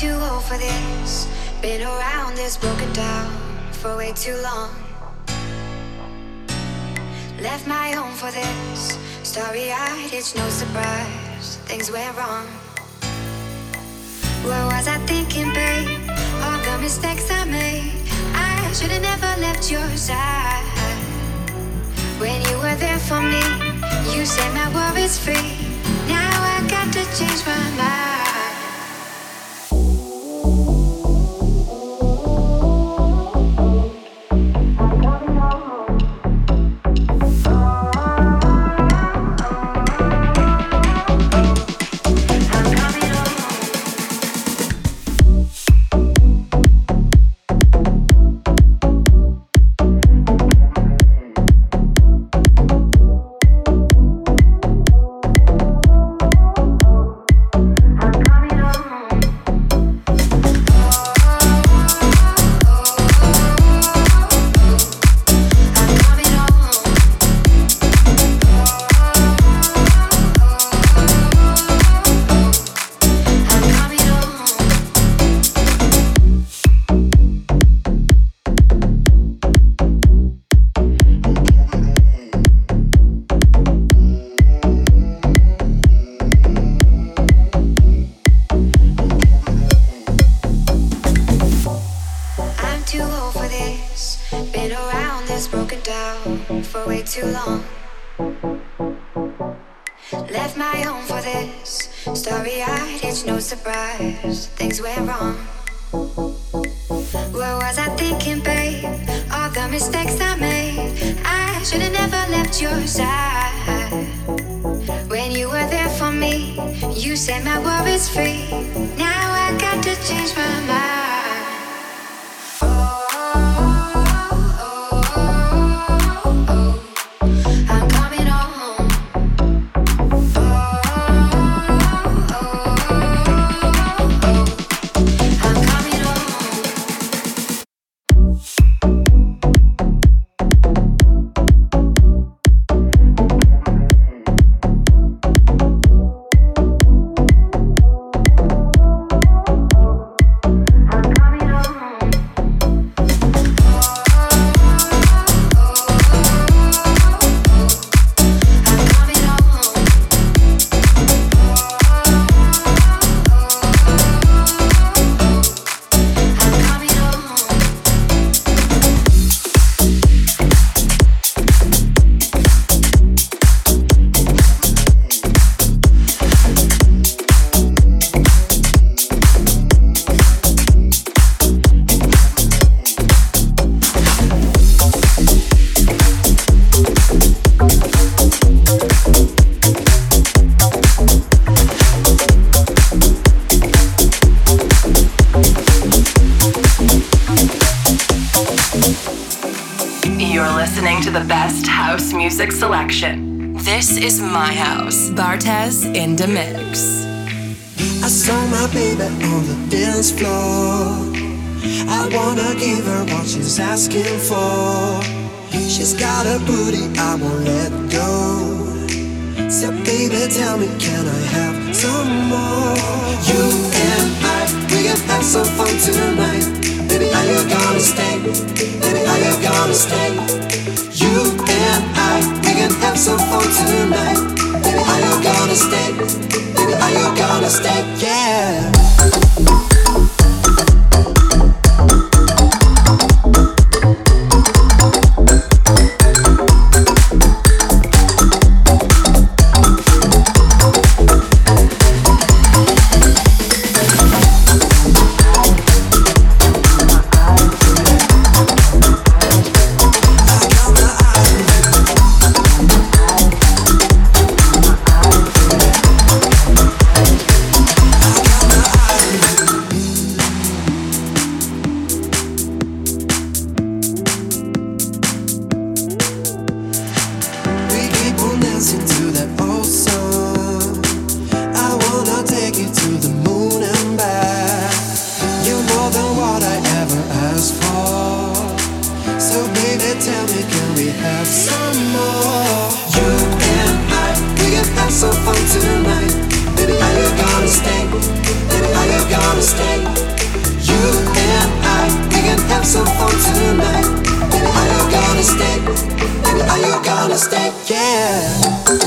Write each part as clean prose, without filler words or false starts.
too old for this. Been around this, broken down for way too long. Left my home for this. Starry-eyed, it's no surprise things went wrong. What was I thinking, babe? All the mistakes I made. I should've never left your side. When you were there for me, you set my worries free. Now I got to change my mind. Too long. Left my home for this. Starry-eyed, it's no surprise things went wrong. What was I thinking, babe? All the mistakes I made. I should've never left your side. When you were there for me, you set my worries free. Now I got to change my mind. Music selection. This is my house. Bartez in the mix. I saw my baby on the dance floor. I wanna give her what she's asking for. She's got a booty, I won't let go. So baby, tell me, can I have some more? You and I, we can have some fun tonight. Baby, are you gonna stay? Baby, are you gonna stay? You and I, we can have some fun tonight. Baby, are you gonna stay? Baby, are you gonna stay? Yeah. Some fun tonight. Baby, are you gonna stay? Baby, are you gonna stay? gonna stay, yeah.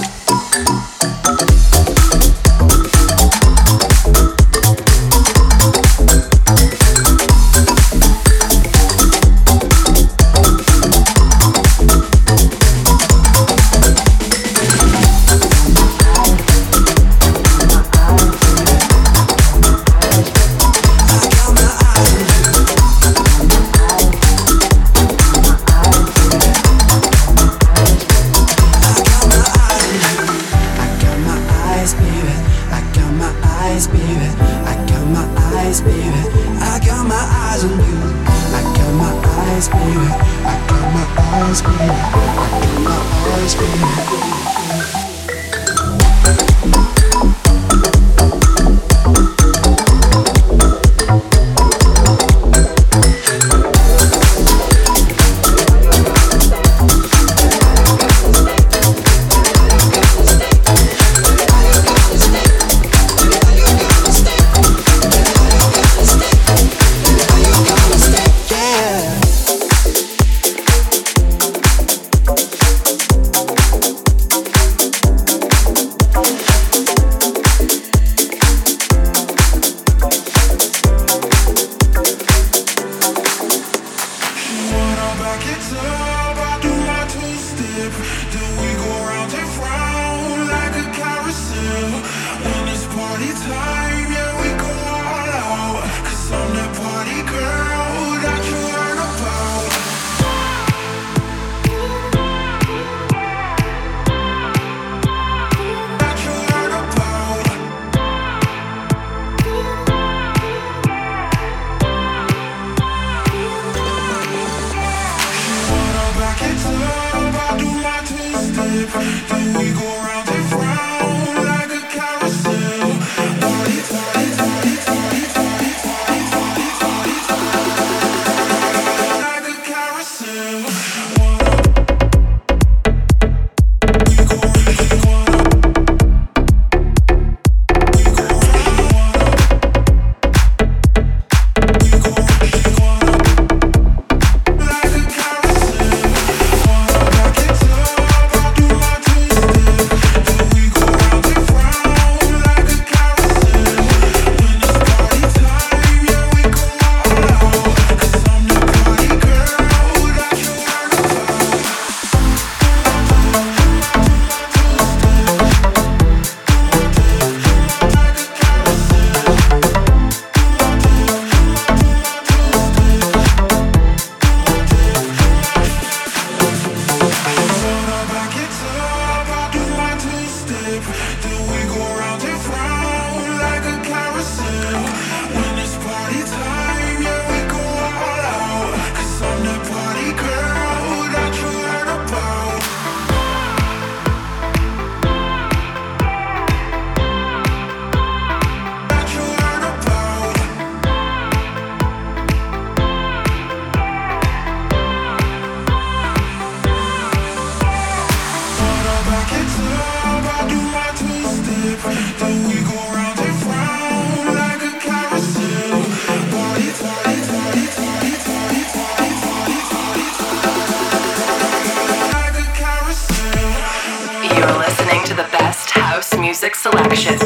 Selection.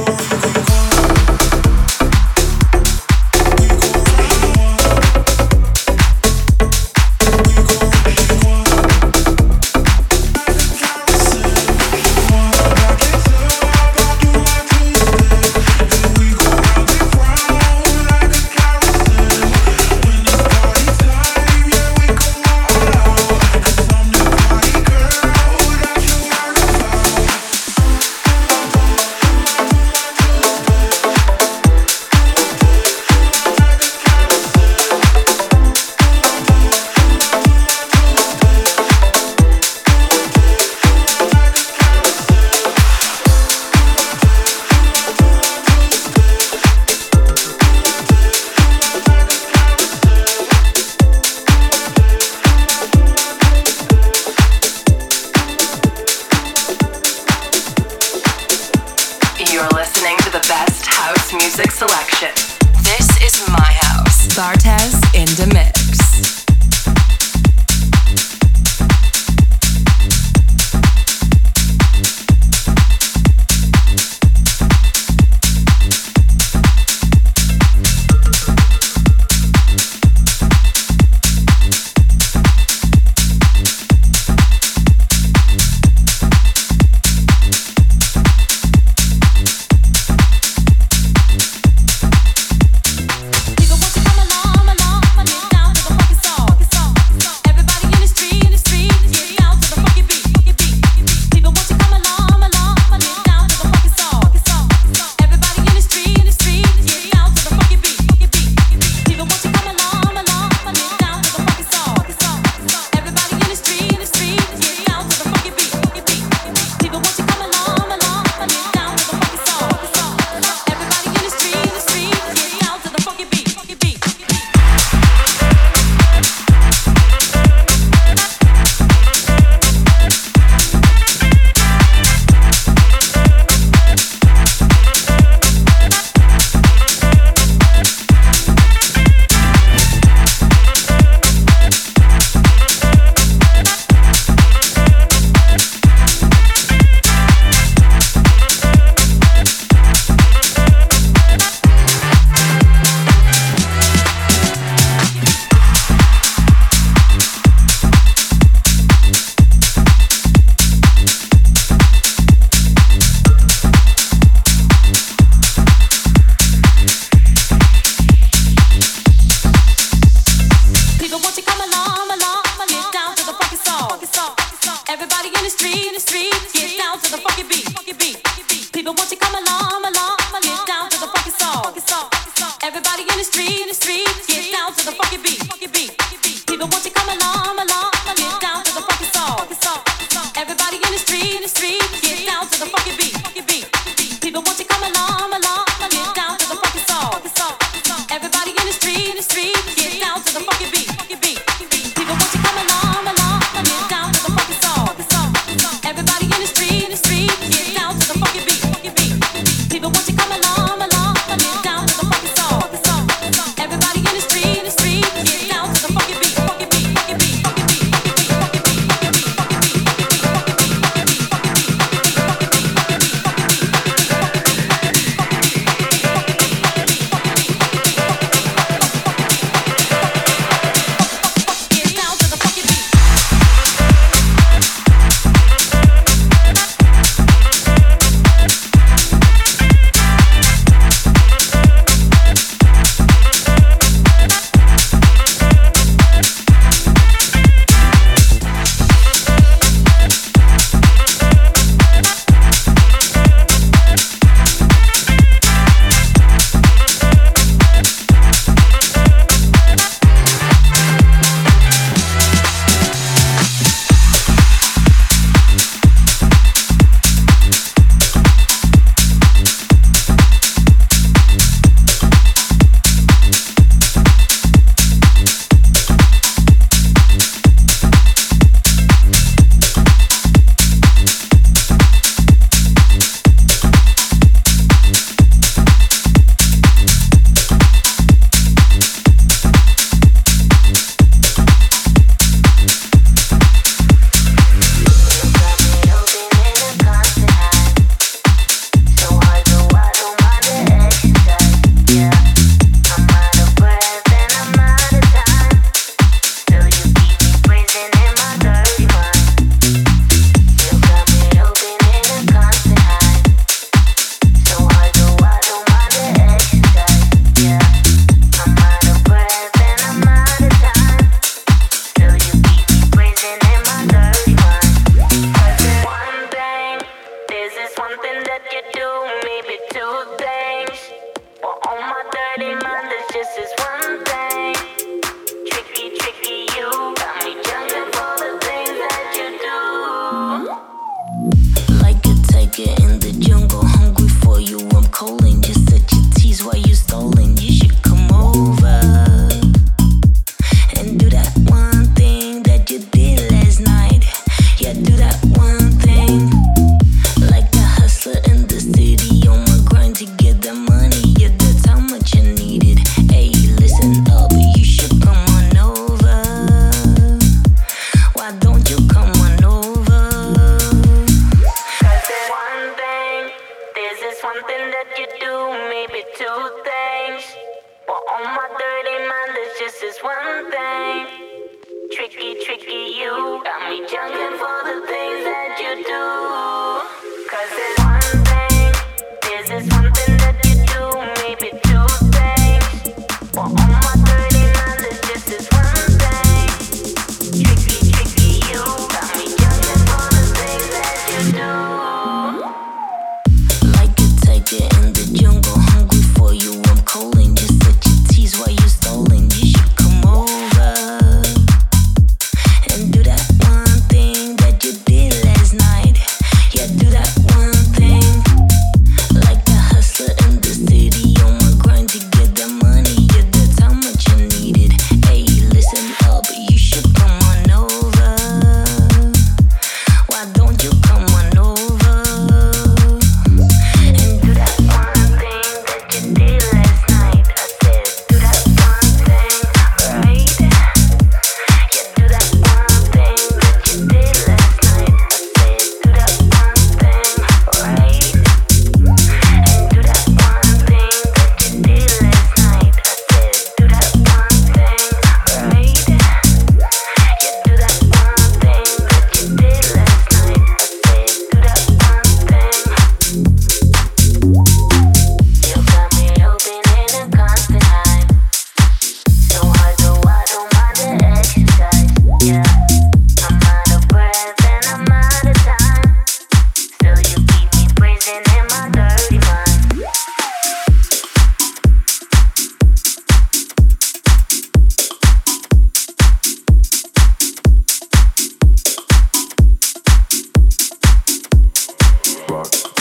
And do that one thing that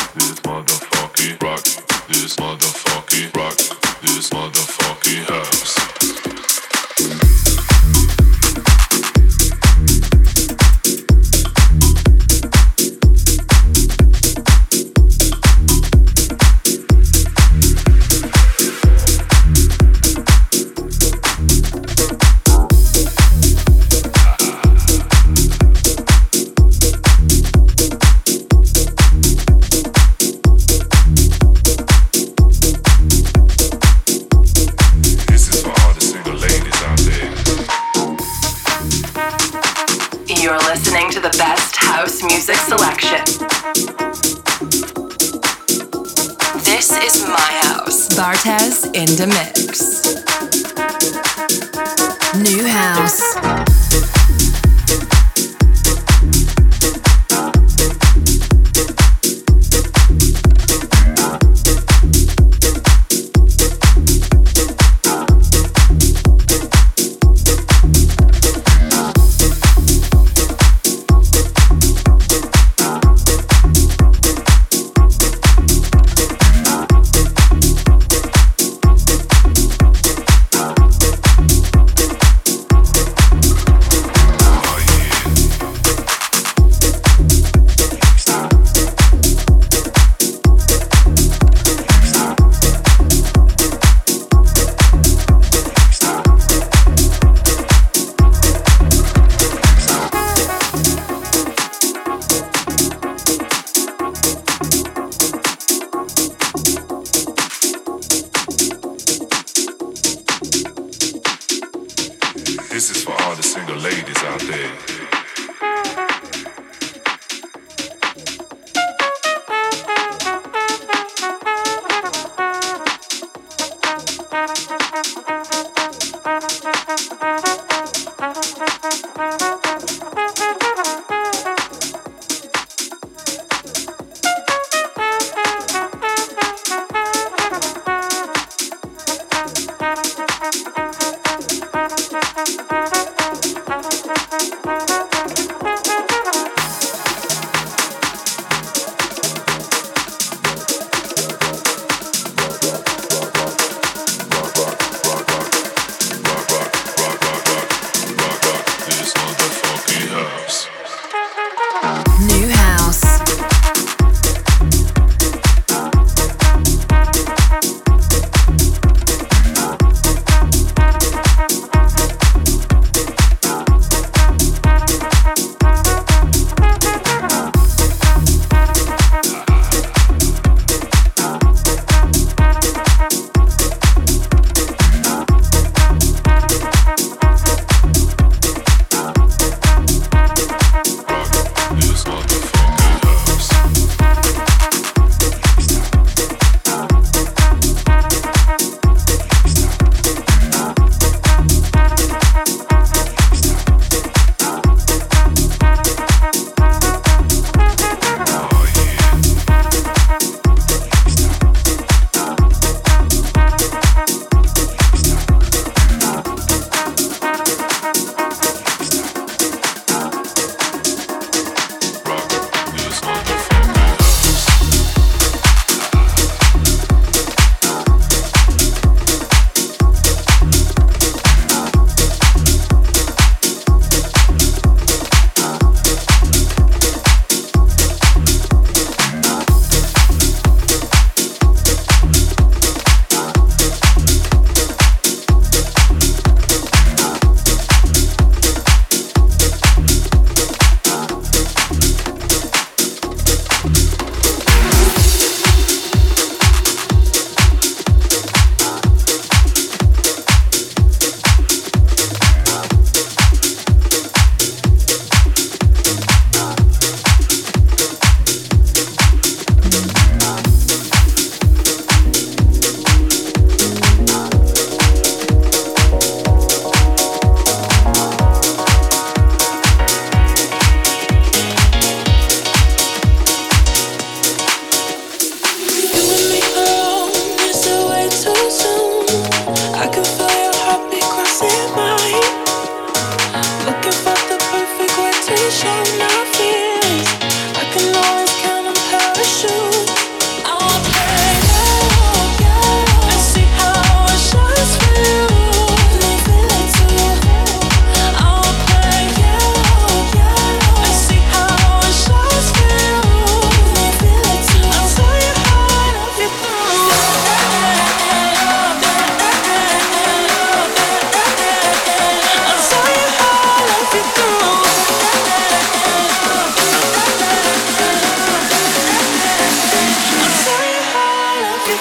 In the mix. New house.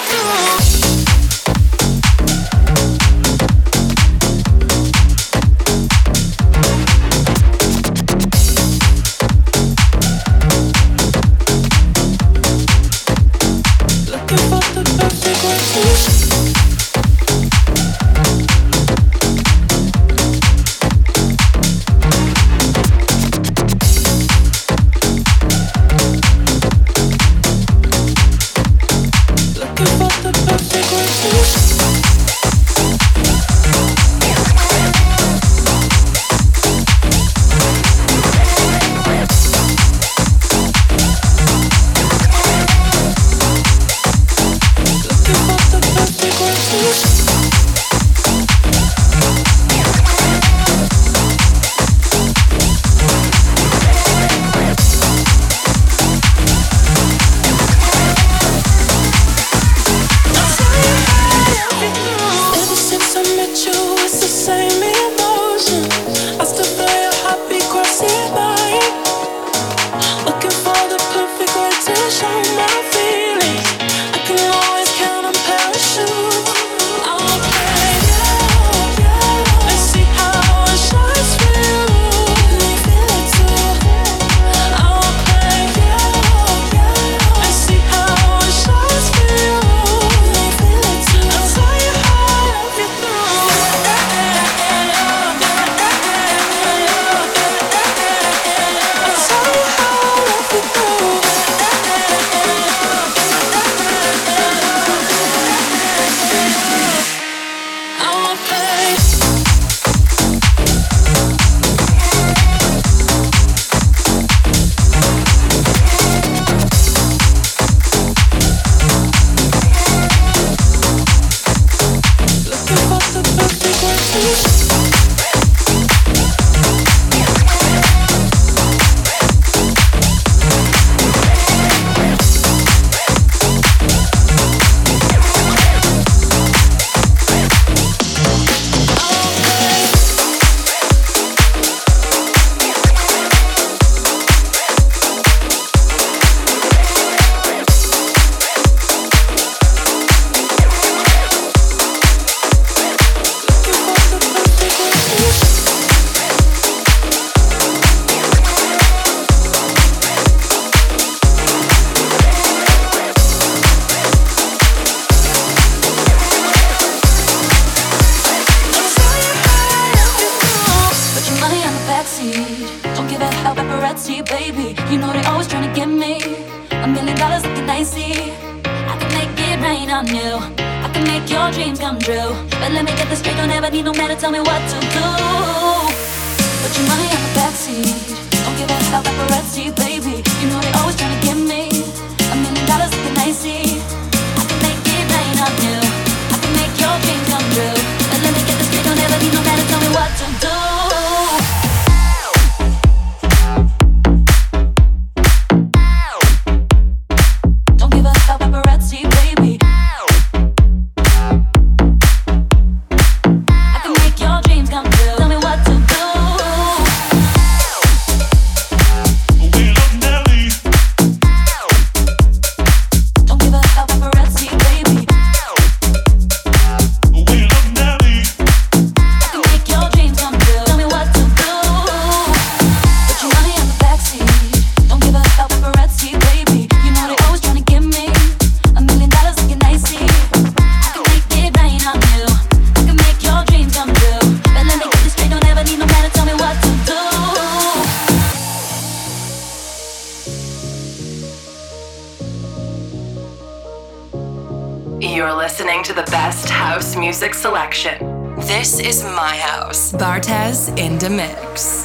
You're listening to the best house music selection. This is my house. Bartez in the mix.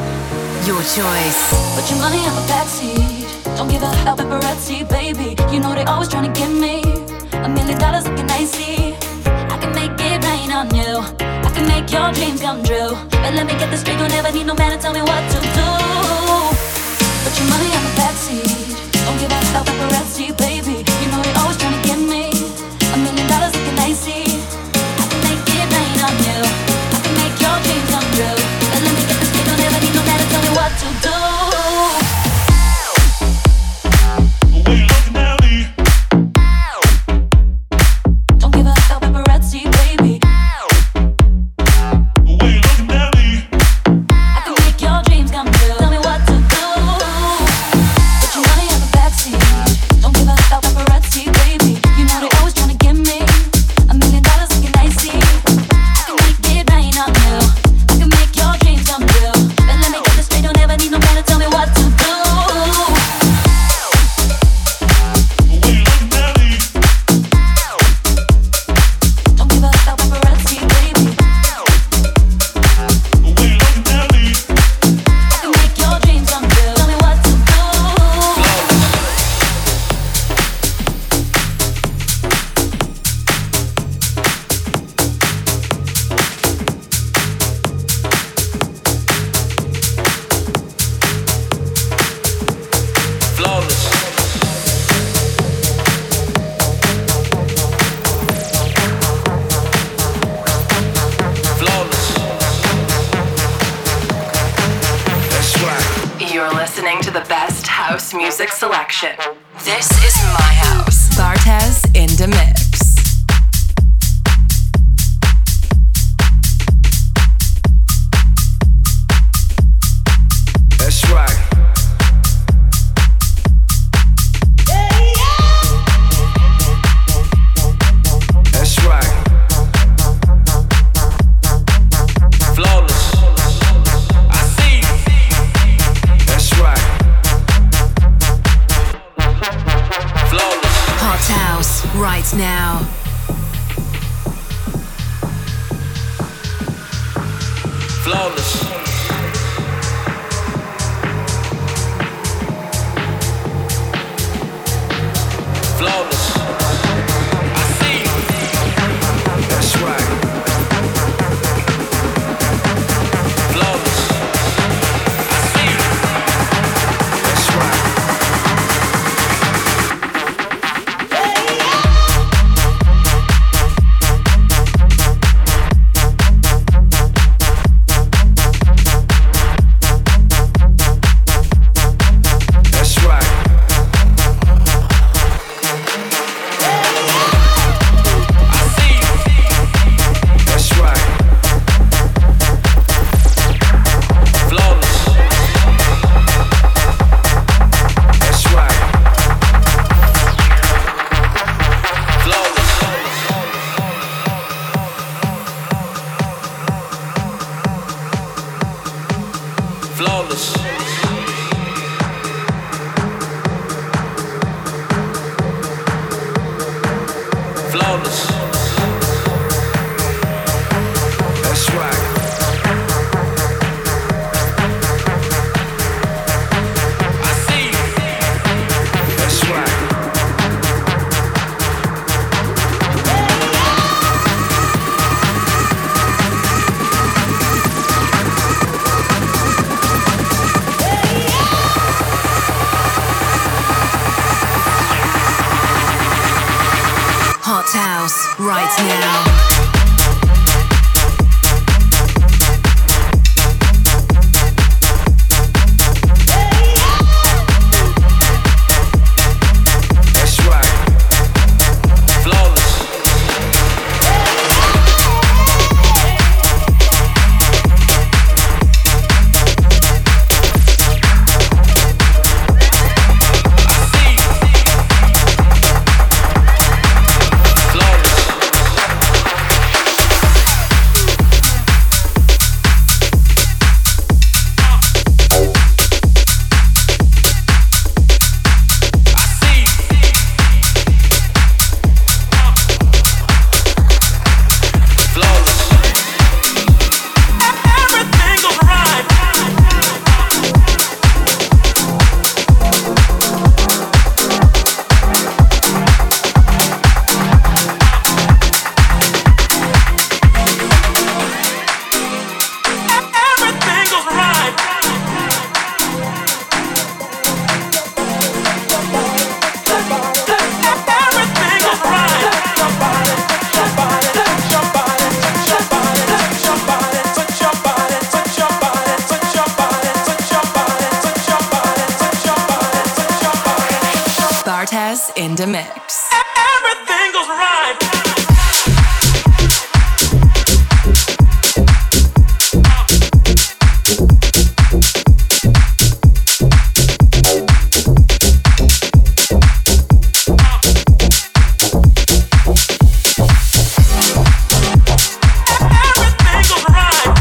Your choice. Put your money on the backseat. Don't give a hell, paparazzi, baby. You know they always trying to get me. $1 million looking icy. I can make it rain on you. I can make your dreams come true. But let me get this straight, don't ever need no man to tell me what to do. Put your money on the backseat. Don't give a hell, paparazzi, baby. You know they always trying to get me. $1 million looking icy. I can make it rain on you. I can make your dreams come true. But let me get this straight, don't ever need no man to tell me what to do. music selection. This is my house. Bartez in the mix. That's right. That's right. Flawless. I see you. That's right. Flawless. Hot house right now. Flawless. Flawless. I see you. That's right. Flawless. I see you. That's right. That's right. I see you. That's right. Flawless. That's right. Flawless. Flawless. Flawless. That's right. I see you. That's right. Hot house right now. That's right. Flawless. I see you. Flawless. I see you. Flawless. Everything goes right. Everything goes right. Everything goes right. Bartez in the mix. Everything goes right. Everything goes right.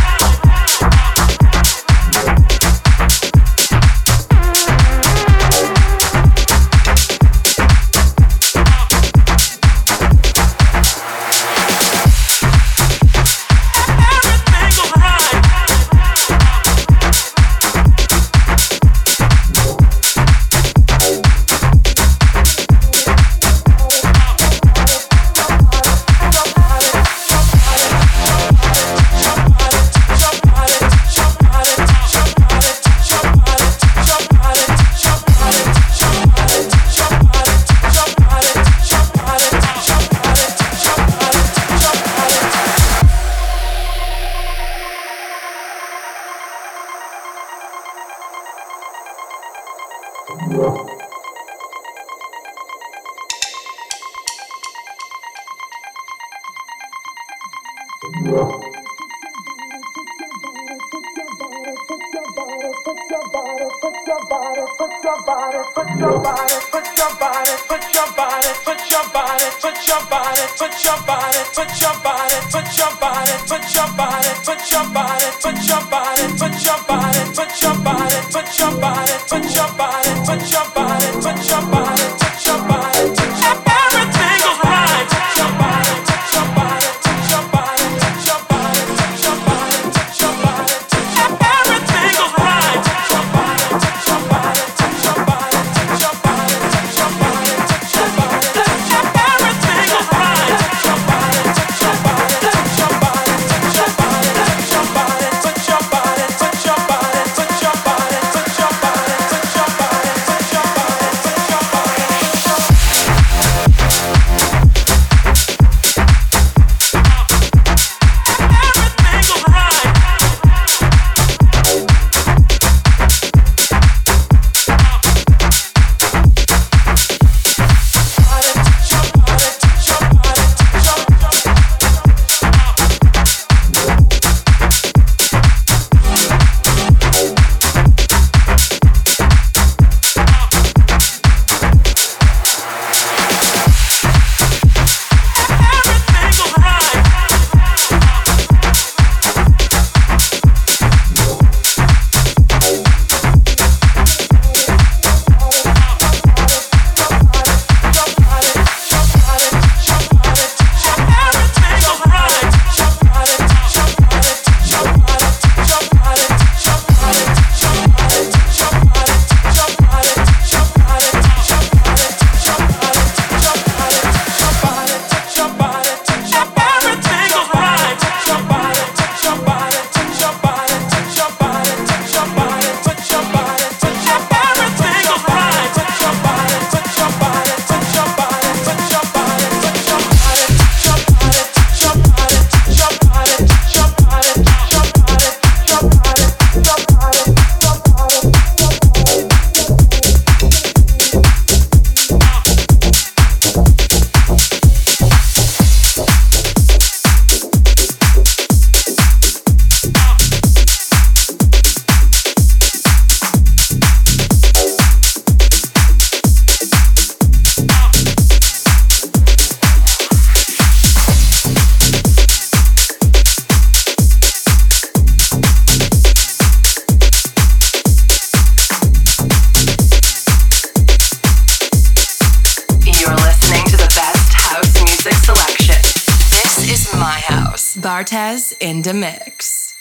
Bartez in the mix.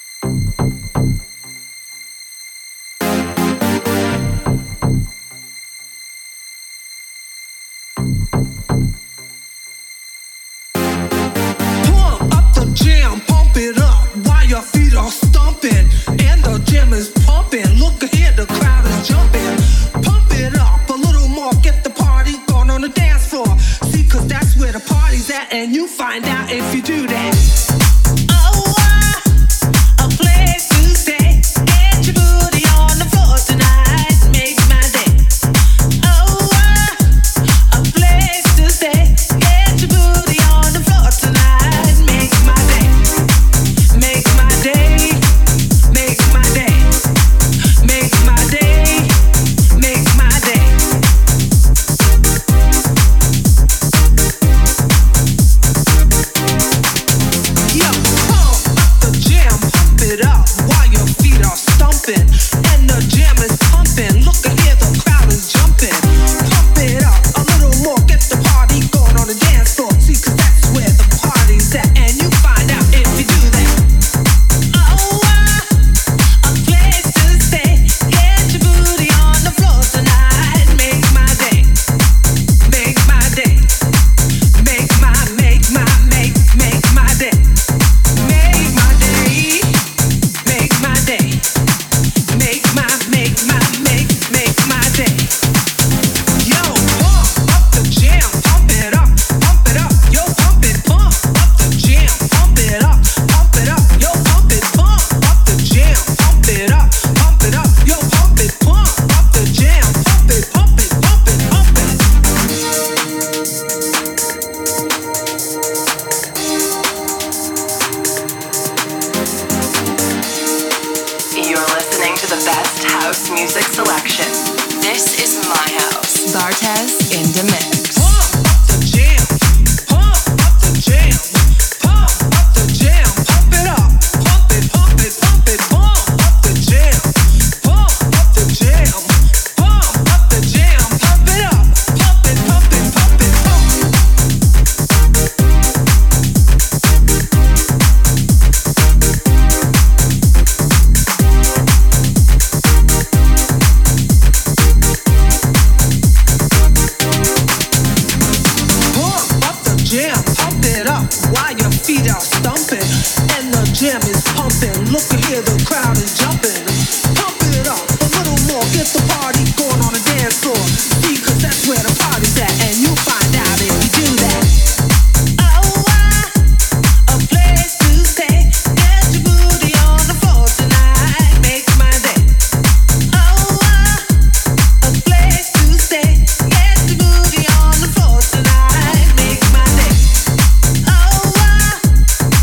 Pump up the jam, pump it up while your feet are stomping and the jam is pumping. Look ahead, the crowd is jumping. Pump it up a little more, get the party going on the dance floor. See, 'cause that's where the party's at, and you find out if you do that. Bartez in the mix. Pump up the jam, pump up the jam, pump up the jam, pump it up, pump it, pump it, pump it, pump up the jam, pump up the jam, pump up the jam, pump it up, pump it, pump it, pump it, pump it. Jam, pump it up while your feet are stumping and the jam is pumping. Look here, the crowd is jumping. Pump it up a little more, get the party going on the dance floor. See, 'cause that's where the party's at, and you'll find out if you do that. Oh, a place to stay. Get your booty on the floor tonight, make my day. Oh, a place to stay. Get your booty on the floor tonight, make my day. Oh,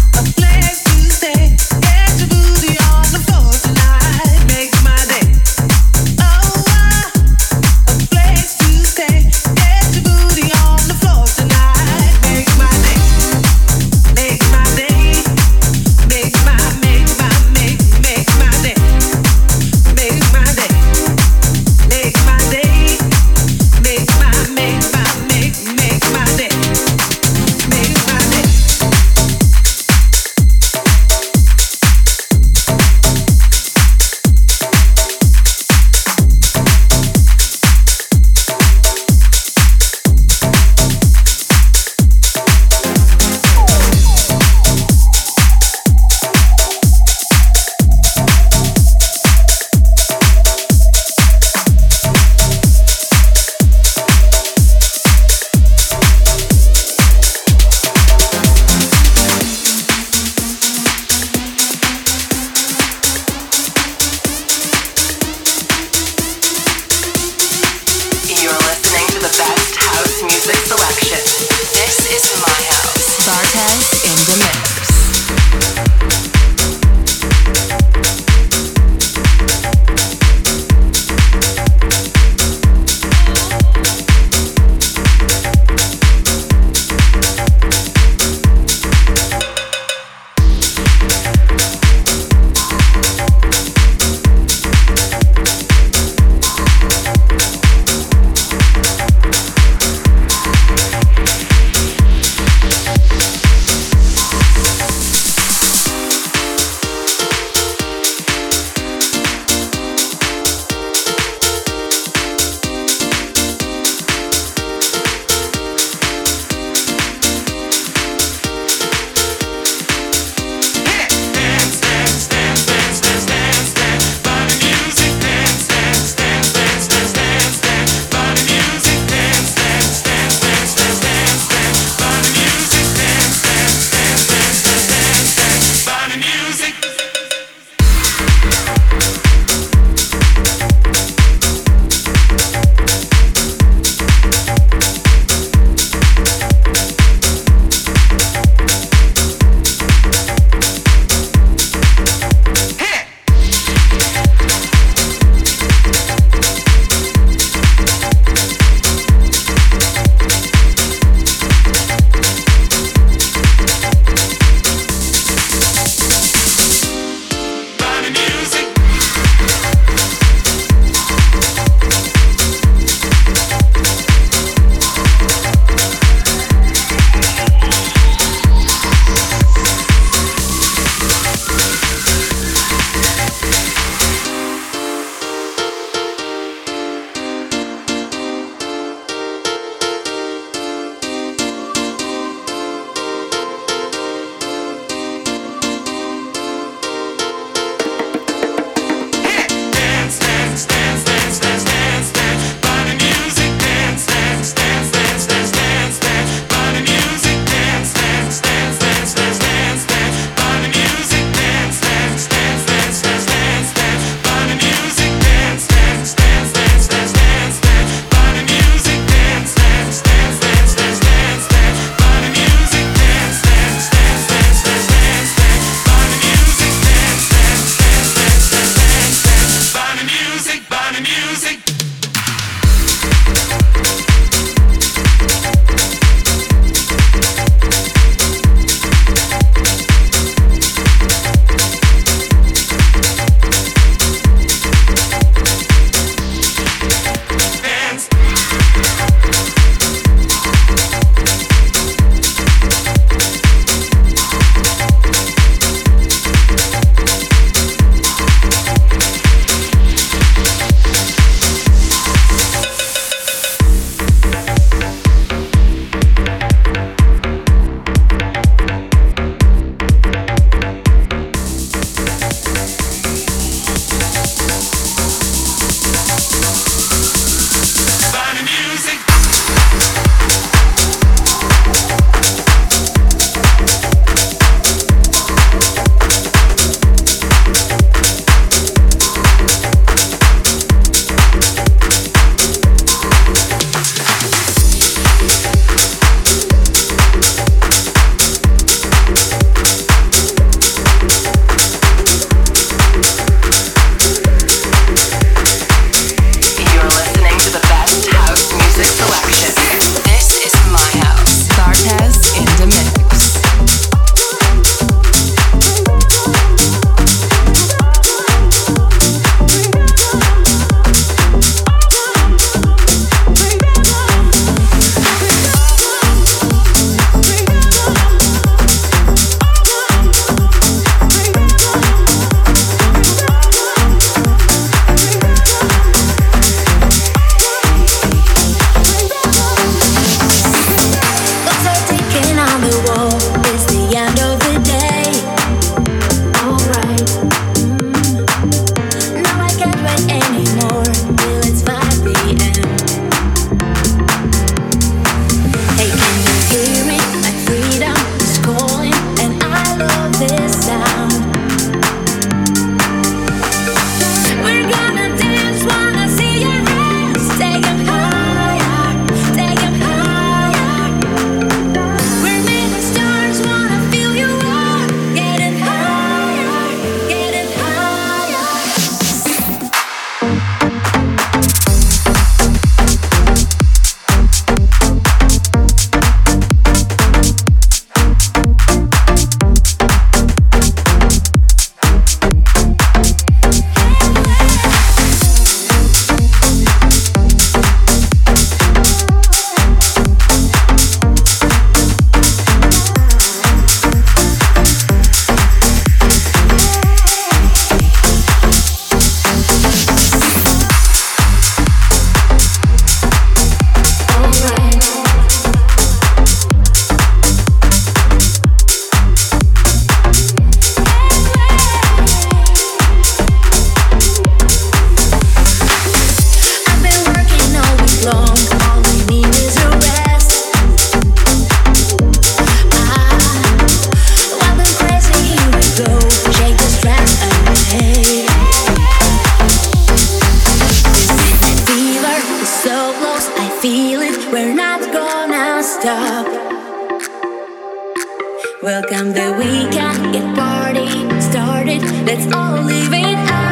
stop. Welcome the weekend, get party started. Let's all live it out.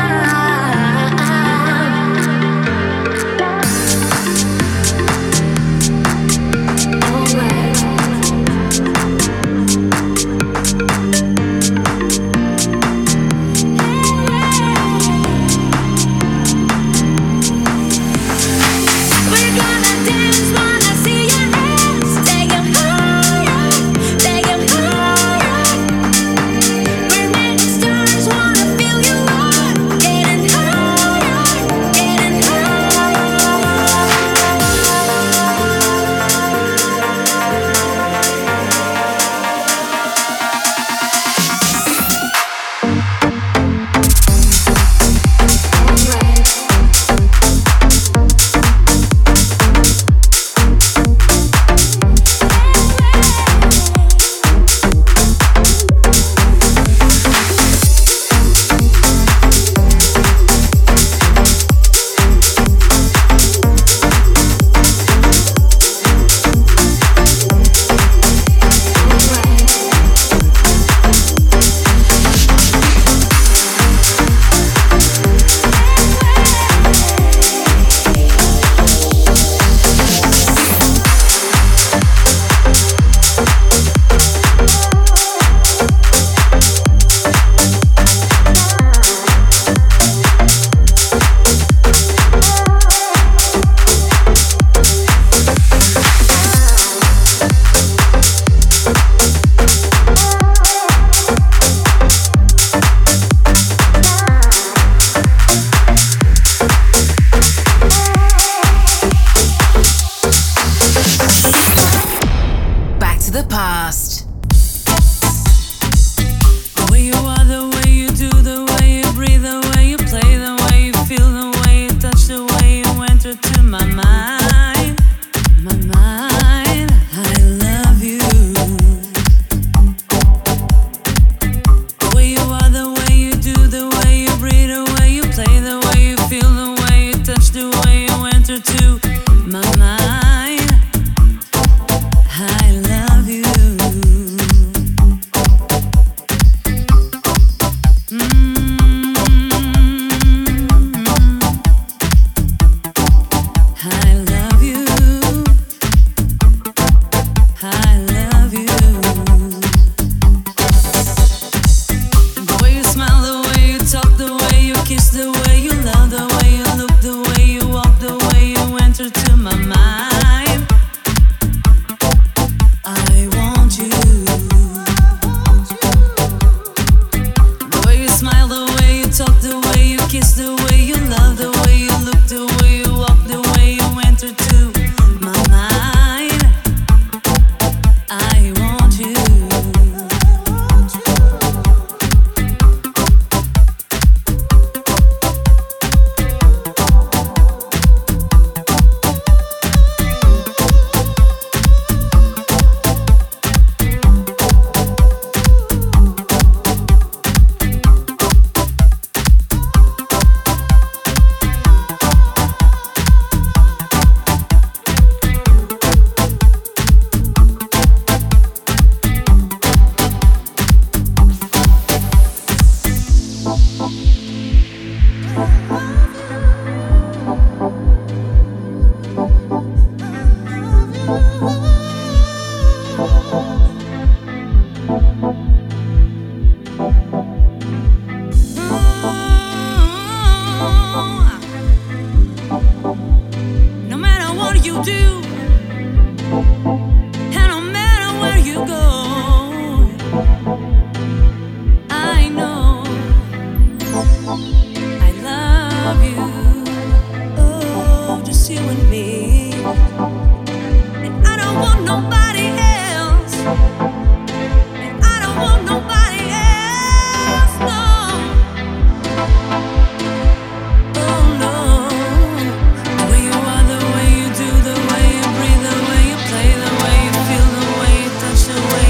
The way you feel, the way you touch, the way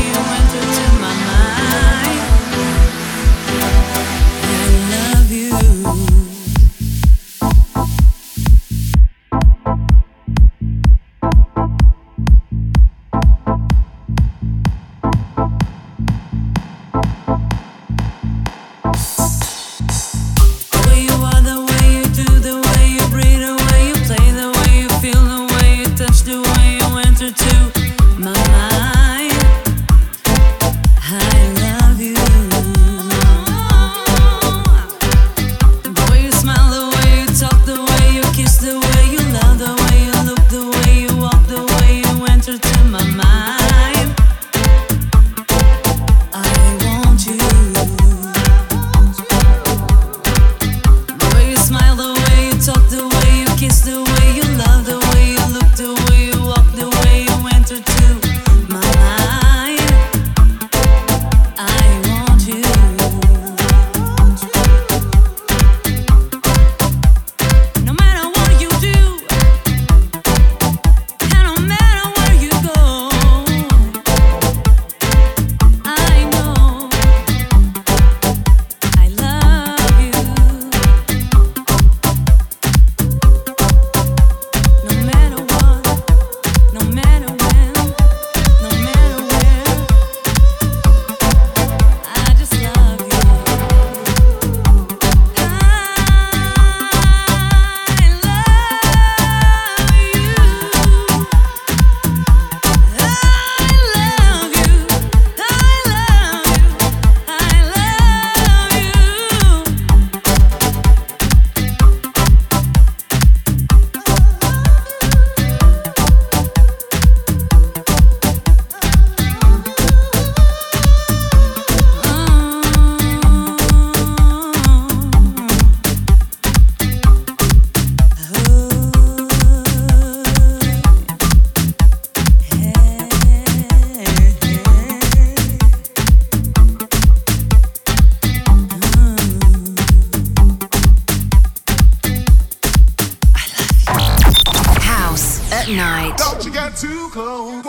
get too close.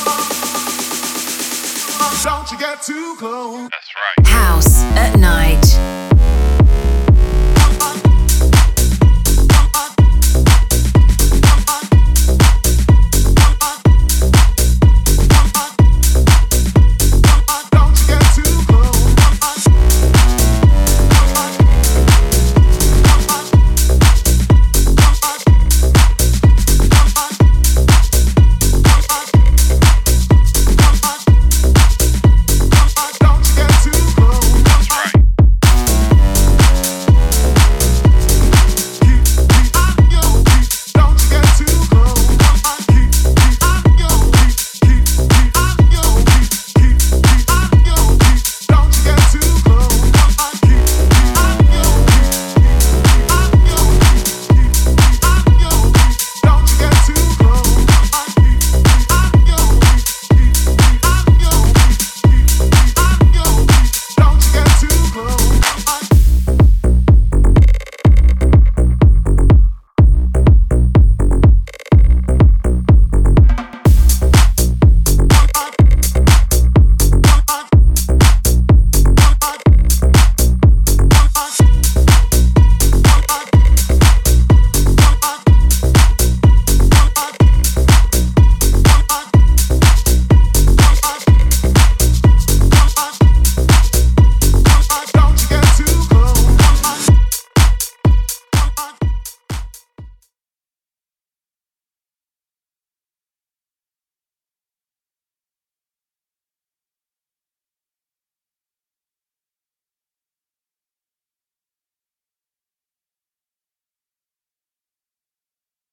House at night.